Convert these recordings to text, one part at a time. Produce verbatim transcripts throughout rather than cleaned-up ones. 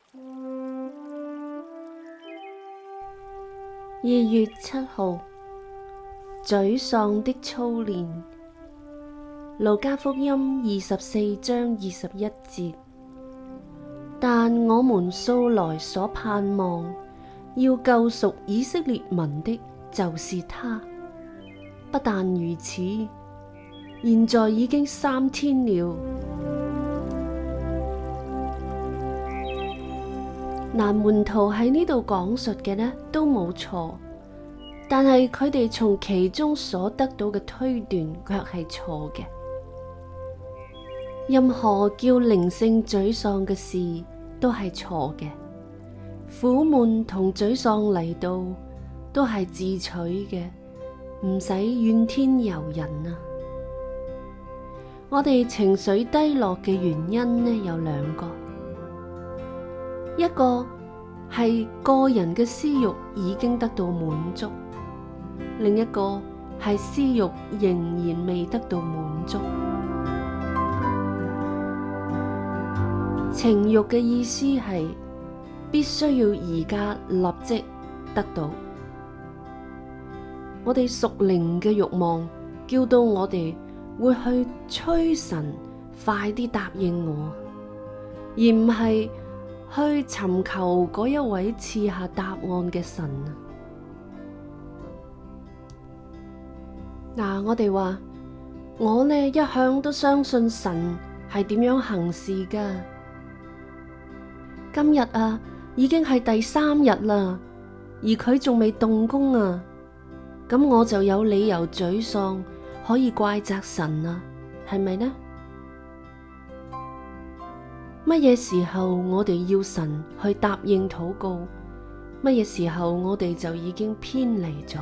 二月七號，沮喪的操練。路加福音二十四章二十一節。但我們素來所盼望要救贖以色列民的，就是他。不但如此，現在已經三天了。嗱，門徒喺呢度講述嘅呢都冇錯，但係佢哋從其中所得到嘅推斷卻係錯嘅。任何叫靈性沮喪嘅事都係錯嘅，苦悶同沮喪嚟到都係自取嘅，唔使怨天尤人啊！我哋情緒低落嘅原因呢有兩個，一個係個人嘅私慾已經得到滿足，另一個係私慾仍然未得到滿足。情慾嘅意思係必須要而家立即得到。我哋屬靈嘅慾望叫到我哋會去催神快啲答應我，而唔係去尋求嗰一位賜下答案嘅神啊！嗱，我哋話我呢一向都相信神係點樣行事噶。今日啊，已經係第三日啦，而佢仲未動工啊，咁我就有理由沮喪，可以怪責神啊，係咪呢？乜嘢時候我哋要神去答應禱告？乜嘢時候我哋就已經偏離咗？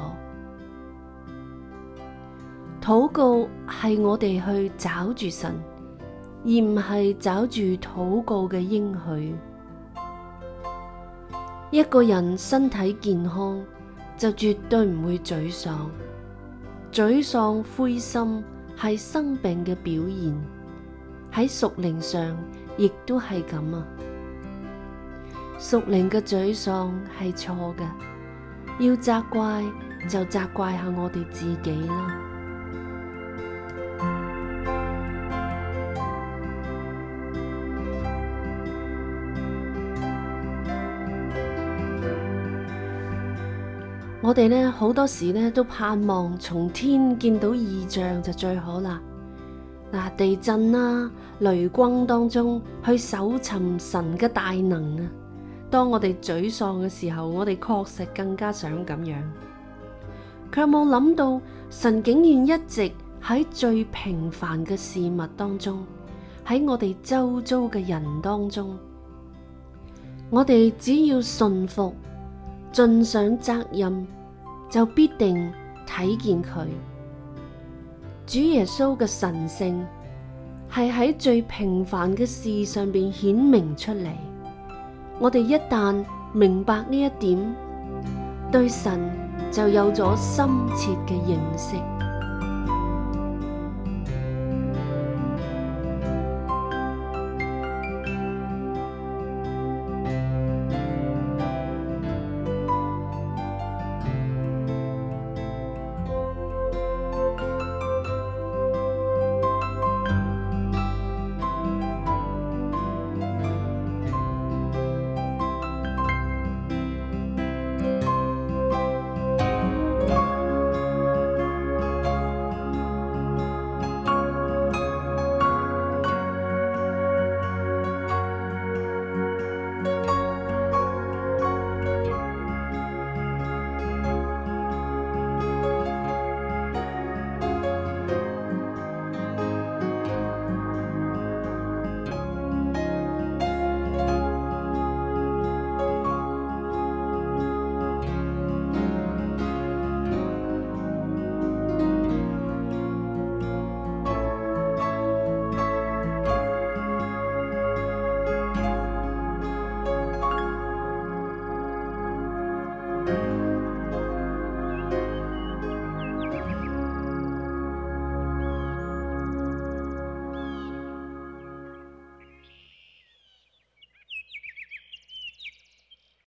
禱告係我哋去找住神，而唔係找住禱告嘅應許。一個人身體健康就絕對唔會沮喪，沮喪灰心係生病嘅表現，喺屬靈上亦都係咁啊！屬靈嘅沮喪係錯嘅，要責怪就責怪下我哋自己啦。我哋呢好多時呢都盼望從天見到異象就最好啦。嗱，地震啦、雷轟當中去搜尋神嘅大能啊！當我哋沮喪嘅時候，我哋確實更加想咁樣，卻冇諗到神竟然一直喺最平凡嘅事物當中，喺我哋周遭嘅人當中，我哋只要順服，盡上責任，就必定睇見佢。主耶穌嘅神性係喺最平凡嘅事上邊顯明出嚟。我哋一旦明白呢一點，對神就有咗深切嘅認識。